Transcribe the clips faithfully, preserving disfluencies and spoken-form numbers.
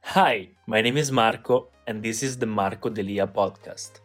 Hi, my name is Marco, and this is the Marco Delia podcast.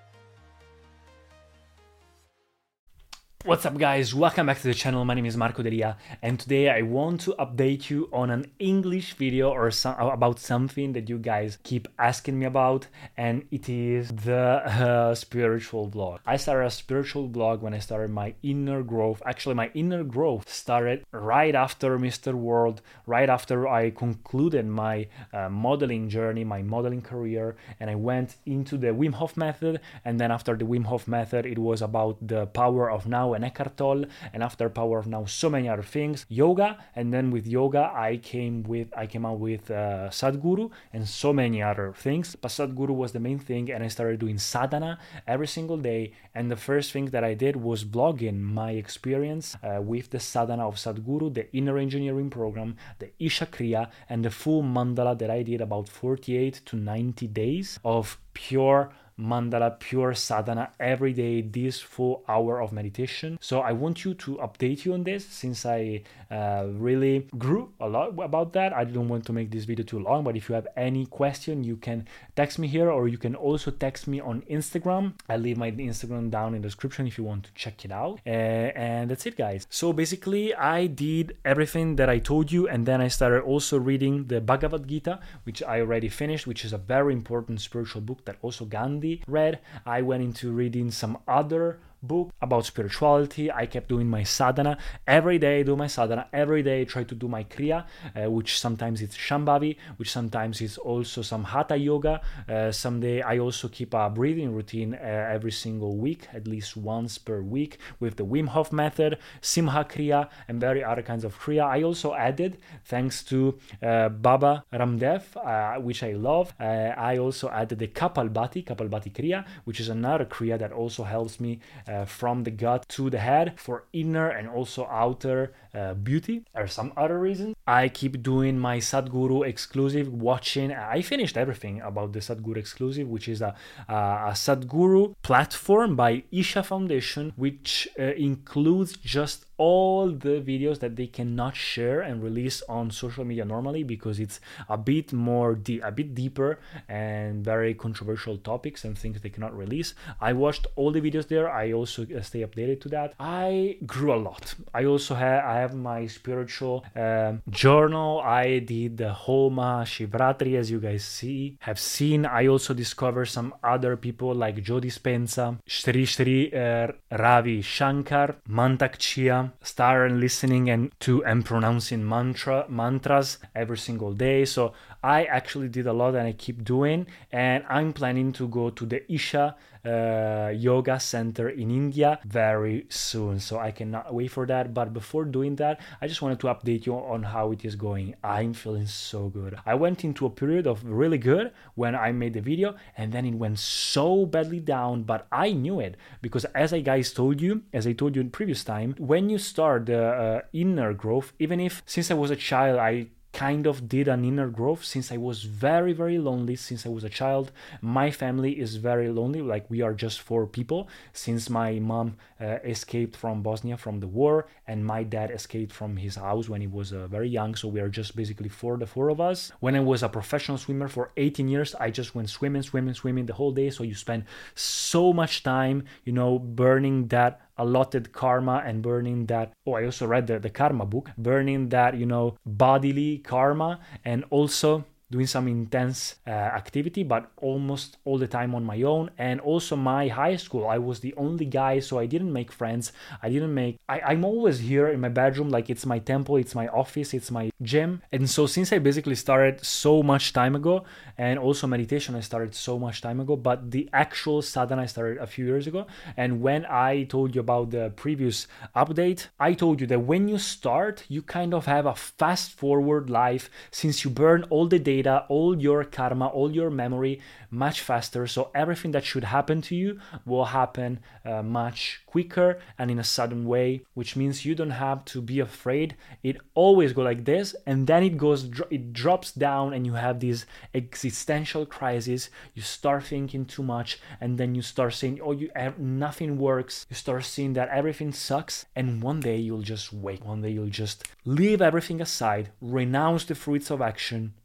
What's up, guys? Welcome back to the channel. My name is Marco Delia, and today I want to update you on an English video or some, about something that you guys keep asking me about, and it is the uh, spiritual blog. I started a spiritual blog when I started my inner growth. Actually, my inner growth started right after Mister World, right after I concluded my uh, modeling journey, my modeling career, and I went into the Wim Hof method. And then after the Wim Hof method, it was about the power of now and Eckhart Tolle, and after Power of Now, so many other things, yoga, and then with yoga I came with I came out with uh, Sadhguru and so many other things. But Sadhguru was the main thing, and I started doing sadhana every single day. And the first thing that I did was blogging my experience uh, with the sadhana of Sadhguru, the inner engineering program, the Isha Kriya, and the full mandala that I did, about forty-eight to ninety days of pure mandala, pure sadhana every day, this full hour of meditation. So I want you to update you on this, since I uh, really grew a lot about that. I don't want to make this video too long, but if you have any question, you can text me here, or you can also text me on Instagram. I'll leave my Instagram down in the description if you want to check it out. Uh, and that's it, guys. So basically I did everything that I told you, and then I started also reading the Bhagavad Gita, which I already finished, which is a very important spiritual book that also Gandhi read. I went into reading some other book about spirituality. I kept doing my sadhana every day. I do my sadhana every day. I try to do my kriya, uh, which sometimes it's shambhavi, which sometimes is also some hatha yoga. Uh, someday I also keep a breathing routine uh, every single week, at least once per week, with the Wim Hof method, simha kriya, and very other kinds of kriya. I also added, thanks to uh, Baba Ramdev, uh, which I love, uh, I also added the Kapalbhati, Kapalbhati kriya, which is another kriya that also helps me Uh, from the gut to the head for inner and also outer uh, beauty. Or some other reasons I keep doing my Sadhguru exclusive watching. I finished everything about the Sadhguru exclusive, which is a, a, a Sadhguru platform by Isha Foundation, which uh, includes just all the videos that they cannot share and release on social media normally, because it's a bit more de- a bit deeper and very controversial topics and things they cannot release. I watched all the videos there. I also stay updated to that. I grew a lot. I also have I have my spiritual um, journal. I did the whole Mahashivratri, as you guys see have seen. I also discovered some other people like Joe Dispenza, Sri Sri uh, Ravi Shankar, Mantak Chia. Started listening and to and pronouncing mantra mantras every single day. So I actually did a lot, and I keep doing. And I'm planning to go to the Isha uh, Yoga Center in India very soon. So I cannot wait for that. But before doing that, I just wanted to update you on how it is going. I'm feeling so good. I went into a period of really good when I made the video, and then it went so badly down. But I knew it, because as I guys told you, as I told you in previous time, when you start the uh, inner growth, even if since I was a child I kind of did an inner growth, since I was very very lonely since I was a child. My family is very lonely, like we are just four people, since my mom uh, escaped from Bosnia from the war, and my dad escaped from his house when he was uh, very young. So we are just basically four the four of us. When I was a professional swimmer for eighteen years, I just went swimming swimming swimming the whole day. So you spend so much time, you know, burning that allotted karma and burning that oh I also read the, the karma book, burning that, you know, bodily karma, and also doing some intense uh, activity, but almost all the time on my own. And also my high school, I was the only guy, so I didn't make friends. I didn't make, I, I'm always here in my bedroom, like it's my temple, it's my office, it's my gym. And so since I basically started so much time ago, and also meditation I started so much time ago, but the actual sadhana I started a few years ago. And when I told you about the previous update, I told you that when you start, you kind of have a fast forward life, since you burn all the data, all your karma, all your memory much faster. So everything that should happen to you will happen uh, much quicker and in a sudden way, which means you don't have to be afraid. It always goes like this, and then it goes, it drops down, and you have this existential crisis. You start thinking too much, and then you start saying, oh, you nothing works. You start seeing that everything sucks, and one day you'll just wake. One day you'll just leave everything aside, renounce the fruits of action,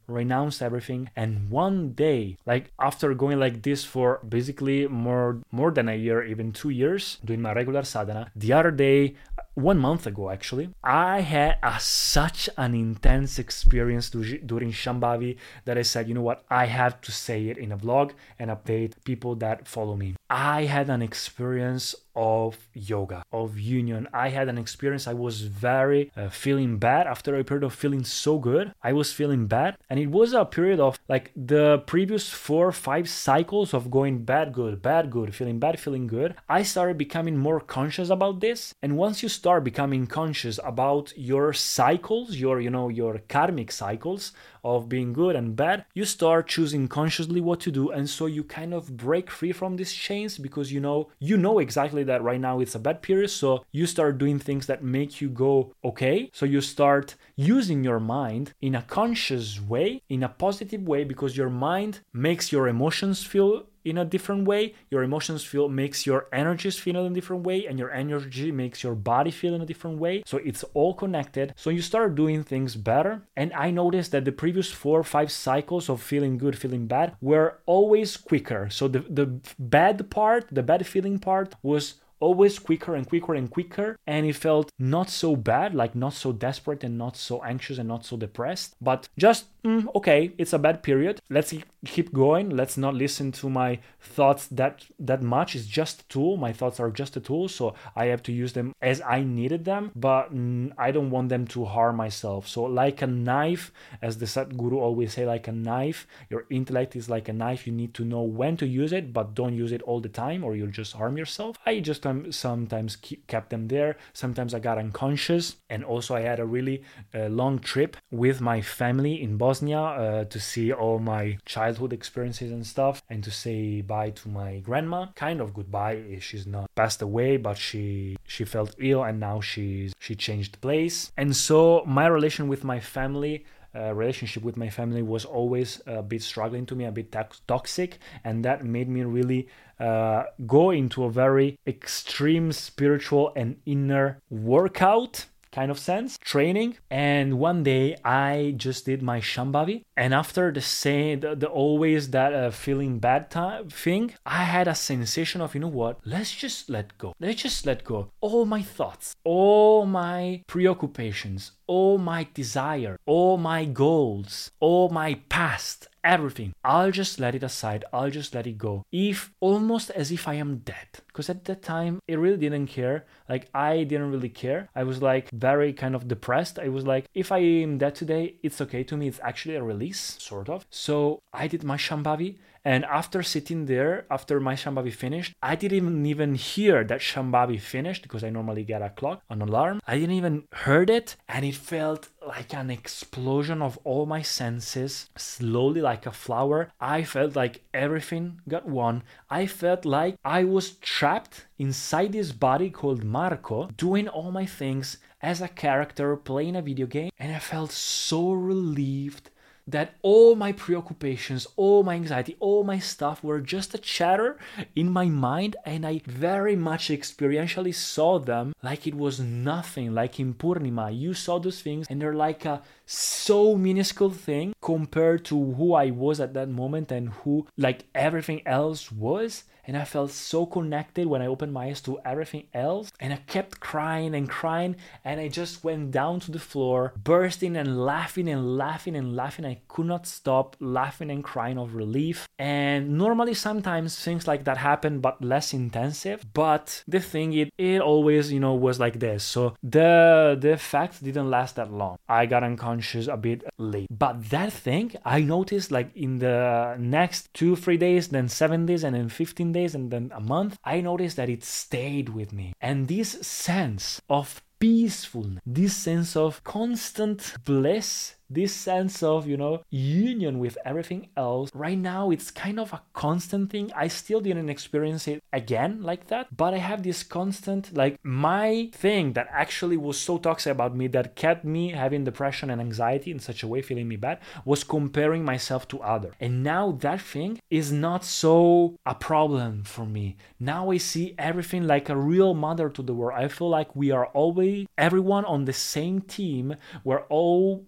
renounced everything. And one day, like after going like this for basically more more than a year, even two years, doing my regular sadhana, the other day, one month ago actually, I had a, such an intense experience do, during Shambhavi that I said, you know what, I have to say it in a vlog and update people that follow me. I had an experience of yoga, of union. I had an experience. I was very uh, feeling bad after a period of feeling so good. I was feeling bad, and it was a period of like the previous four, five cycles of going bad, good, bad, good, feeling bad, feeling good. I started becoming more conscious about this, and once you start becoming conscious about your cycles, your you know your karmic cycles of being good and bad, you start choosing consciously what to do, and so you kind of break free from these chains because you know you know exactly that right now it's a bad period, so you start doing things that make you go okay. So you start using your mind in a conscious way, in a positive way, because your mind makes your emotions feel in a different way, your emotions feel makes your energies feel in a different way, and your energy makes your body feel in a different way. So it's all connected. So you start doing things better. And I noticed that the previous four or five cycles of feeling good, feeling bad were always quicker. So the, the bad part, the bad feeling part was always quicker and quicker and quicker, and it felt not so bad, like not so desperate and not so anxious and not so depressed, but just mm, okay, it's a bad period, let's keep going, let's not listen to my thoughts that that much. It's just a tool, my thoughts are just a tool, so I have to use them as I needed them, but mm, I don't want them to harm myself. So like a knife, as the Sadhguru always say, like a knife, your intellect is like a knife, you need to know when to use it, but don't use it all the time or you'll just harm yourself. I just sometimes keep, kept them there. Sometimes I got unconscious. And also I had a really uh, long trip with my family in Bosnia uh, to see all my childhood experiences and stuff, and to say bye to my grandma. Kind of goodbye. She's not passed away, but she she felt ill and now she's she changed place. And so my relation with my family Uh, relationship with my family was always a bit struggling to me, a bit to- toxic, and that made me really uh, go into a very extreme spiritual and inner workout kind of sense, training. And one day I just did my Shambhavi, and after the same, the, the always that uh, feeling bad time thing, I had a sensation of, you know what, let's just let go. Let's just let go. All my thoughts, all my preoccupations, all my desire, all my goals, all my past, everything. I'll just let it aside. I'll just let it go. If almost as if I am dead. Because at that time, it really didn't care. Like, I didn't really care. I was like very kind of depressed. I was like, if I am dead today, it's okay to me. It's actually a release, sort of. So I did my Shambhavi. And after sitting there, after my Shambhavi finished, I didn't even hear that Shambhavi finished because I normally get a clock, an alarm. I didn't even heard it. And it felt like an explosion of all my senses, slowly like a flower. I felt like everything got won. I felt like I was trapped inside this body called Marco, doing all my things as a character playing a video game. And I felt so relieved that all my preoccupations, all my anxiety, all my stuff were just a chatter in my mind, and I very much experientially saw them like it was nothing, like in Purnima. You saw those things and they're like a so minuscule thing compared to who I was at that moment and who like everything else was. And I felt so connected when I opened my eyes to everything else. And I kept crying and crying. And I just went down to the floor, bursting and laughing and laughing and laughing. I could not stop laughing and crying of relief. And normally sometimes things like that happen, but less intensive. But the thing, it, it always, you know, was like this. So the, the effect didn't last that long. I got unconscious a bit late. But that thing, I noticed like in the next two, three days, then seven days, and then fifteen days, and then a month, I noticed that it stayed with me. And this sense of peacefulness, this sense of constant bliss, this sense of, you know, union with everything else, right now it's kind of a constant thing. I still didn't experience it again like that, but I have this constant, like my thing that actually was so toxic about me that kept me having depression and anxiety in such a way, feeling me bad, was comparing myself to others. And now that thing is not so a problem for me. Now I see everything like a real mother to the world. I feel like we are always, everyone on the same team. We're all, everyone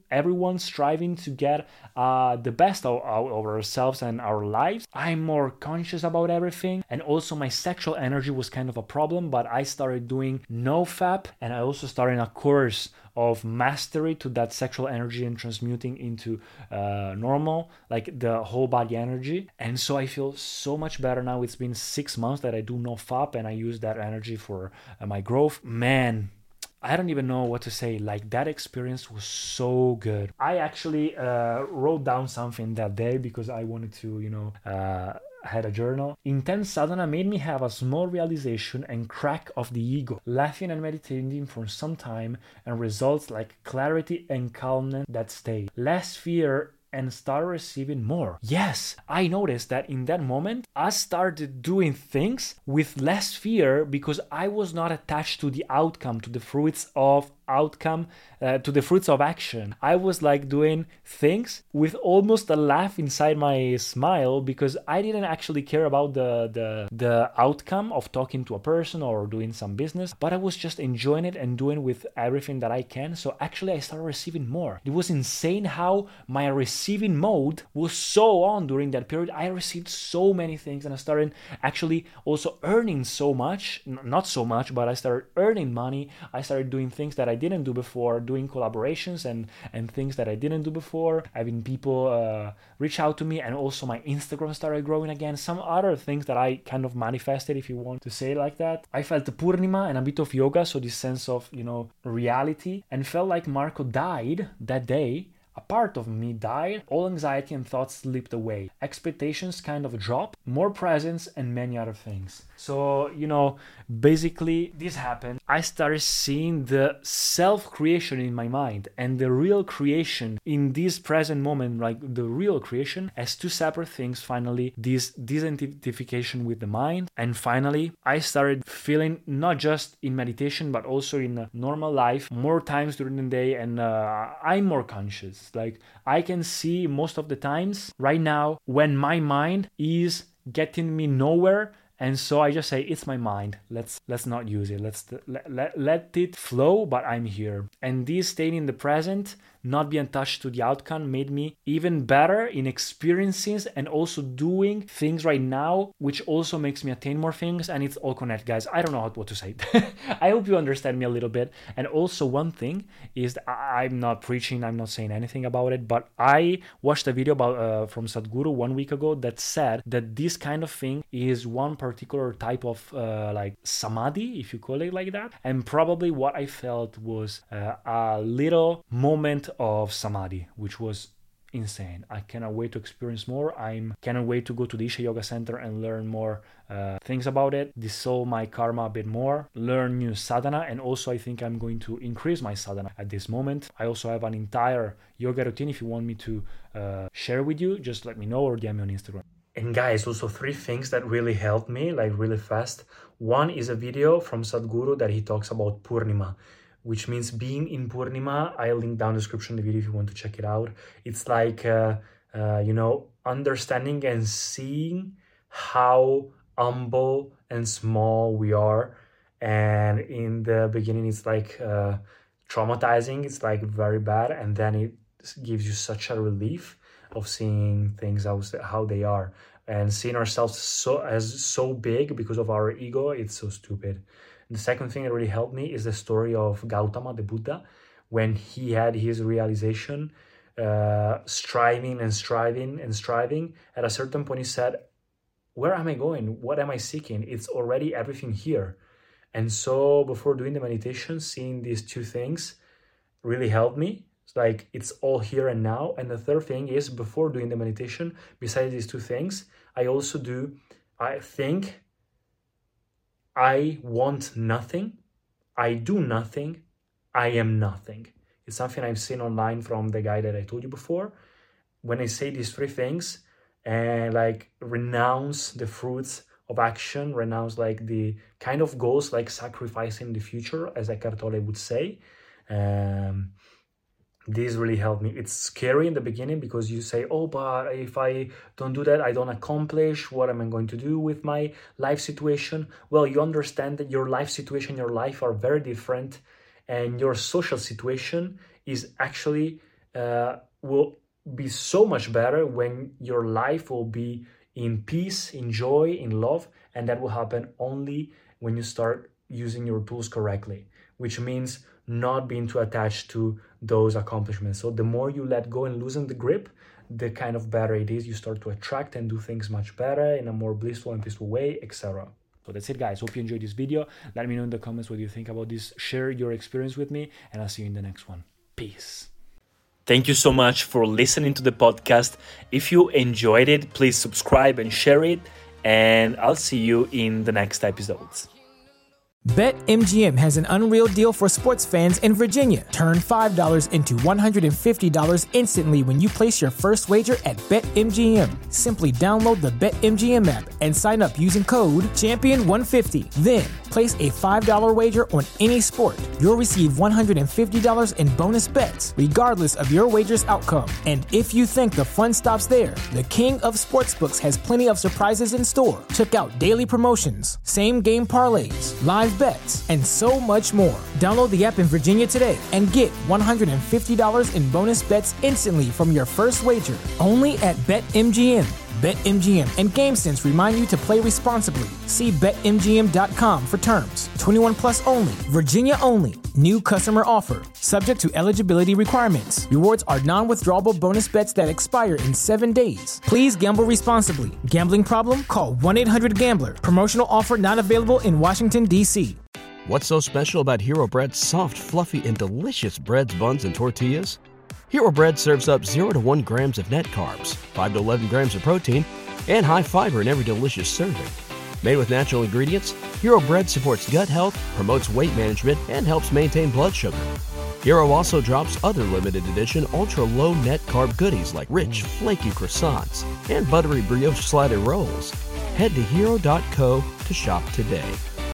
on striving to get uh, the best out of ourselves and our lives. I'm more conscious about everything, and also my sexual energy was kind of a problem, but I started doing NoFap, and I also started a course of mastery to that sexual energy and transmuting into uh, normal, like the whole body energy. And so I feel so much better now. It's been six months that I do NoFap, and I use that energy for uh, my growth. Man, I don't even know what to say. Like, that experience was so good. I actually uh, wrote down something that day because I wanted to, you know, uh, had a journal. Intense sadhana made me have a small realization and crack of the ego, laughing and meditating for some time, and results like clarity and calmness that stay. Less fear and start receiving more. Yes, I noticed that in that moment, I started doing things with less fear because I was not attached to the outcome, to the fruits of outcome, uh, to the fruits of action. I was like doing things with almost a laugh inside my smile because I didn't actually care about the, the, the outcome of talking to a person or doing some business, but I was just enjoying it and doing with everything that I can. So actually I started receiving more. It was insane how my receiving mode was so on during that period. I received so many things, and I started actually also earning so much, N- not so much, but I started earning money. I started doing things that I didn't do before, doing collaborations and and things that I didn't do before, having people uh, reach out to me, and also my Instagram started growing again. Some other things that I kind of manifested, if you want to say it like that. I felt the Purnima and a bit of yoga, so this sense of, you know, reality, and felt like Marco died that day. A part of me died, all anxiety and thoughts slipped away, expectations kind of dropped, more presence, and many other things. So, you know, basically this happened. I started seeing the self-creation in my mind and the real creation in this present moment, like the real creation, as two separate things. Finally, this disidentification with the mind. And finally, I started feeling, not just in meditation, but also in normal life, more times during the day, and uh, I'm more conscious. Like, I can see most of the times right now when my mind is getting me nowhere, and so I just say, it's my mind, let's let's not use it, let's let, let, let it flow, but I'm here. And this staying in the present, not being attached to the outcome, made me even better in experiences and also doing things right now, which also makes me attain more things. And it's all connected, guys. I don't know what to say. I hope you understand me a little bit. And also one thing is, I'm not preaching, I'm not saying anything about it, but I watched a video about uh, from Sadhguru one week ago that said that this kind of thing is one particular type of uh, like samadhi, if you call it like that. And probably what I felt was uh, a little moment of samadhi, which was insane. I cannot wait to experience more. I'm cannot wait to go to the Isha Yoga Center and learn more uh, things about it, dissolve my karma a bit more, learn new sadhana, and also I think I'm going to increase my sadhana at this moment. I also have an entire yoga routine. If you want me to uh, share with you, just let me know or D M me on Instagram. And guys, also three things that really helped me, like really fast. One is a video from Sadhguru that he talks about Purnima, which means being in Purnima. I'll link down the description of the video if you want to check it out. It's like, uh, uh, you know, understanding and seeing how humble and small we are. And in the beginning, it's like uh, traumatizing. It's like very bad. And then it gives you such a relief of seeing things as how they are. And seeing ourselves so as so big because of our ego, it's so stupid. The second thing that really helped me is the story of Gautama, the Buddha, when he had his realization, uh, striving and striving and striving. At a certain point, he said, where am I going? What am I seeking? It's already everything here. And so before doing the meditation, seeing these two things really helped me. It's like, it's all here and now. And the third thing is, before doing the meditation, besides these two things, I also do, I think, I want nothing, I do nothing, I am nothing. It's something I've seen online from the guy that I told you before. When I say these three things, and like renounce the fruits of action, renounce like the kind of goals, like sacrificing the future, as Eckhart Tolle would say, um, this really helped me. It's scary in the beginning because you say, oh, but if I don't do that, I don't accomplish. What am I going to do with my life situation? Well, you understand that your life situation, your life are very different, and your social situation is actually uh, will be so much better when your life will be in peace, in joy, in love, and that will happen only when you start using your tools correctly, which means not being too attached to those accomplishments. So the more you let go and loosen the grip, the kind of better it is. You start to attract and do things much better in a more blissful and peaceful way, et cetera. So that's it, guys. Hope you enjoyed this video. Let me know in the comments what you think about this. Share your experience with me, and I'll see you in the next one. Peace. Thank you so much for listening to the podcast. If you enjoyed it, please subscribe and share it, and I'll see you in the next episodes. BetMGM has an unreal deal for sports fans in Virginia. Turn five dollars into one hundred fifty dollars instantly when you place your first wager at BetMGM. Simply download the BetMGM app and sign up using code champion one fifty. Then, place a five dollars wager on any sport. You'll receive one hundred fifty dollars in bonus bets, regardless of your wager's outcome. And if you think the fun stops there, the King of Sportsbooks has plenty of surprises in store. Check out daily promotions, same-game parlays, live bets, and so much more. Download the app in Virginia today and get one hundred fifty dollars in bonus bets instantly from your first wager. Only at BetMGM. BetMGM and GameSense remind you to play responsibly. See Bet M G M dot com for terms. twenty-one plus only. Virginia only. New customer offer. Subject to eligibility requirements. Rewards are non-withdrawable bonus bets that expire in seven days. Please gamble responsibly. Gambling problem? Call one eight hundred gambler. Promotional offer not available in Washington, D C What's so special about Hero Bread's soft, fluffy, and delicious breads, buns, and tortillas? Hero Bread serves up zero to one grams of net carbs, five to eleven grams of protein, and high fiber in every delicious serving. Made with natural ingredients, Hero Bread supports gut health, promotes weight management, and helps maintain blood sugar. Hero also drops other limited edition ultra-low net carb goodies like rich, flaky croissants and buttery brioche slider rolls. Head to hero dot co to shop today.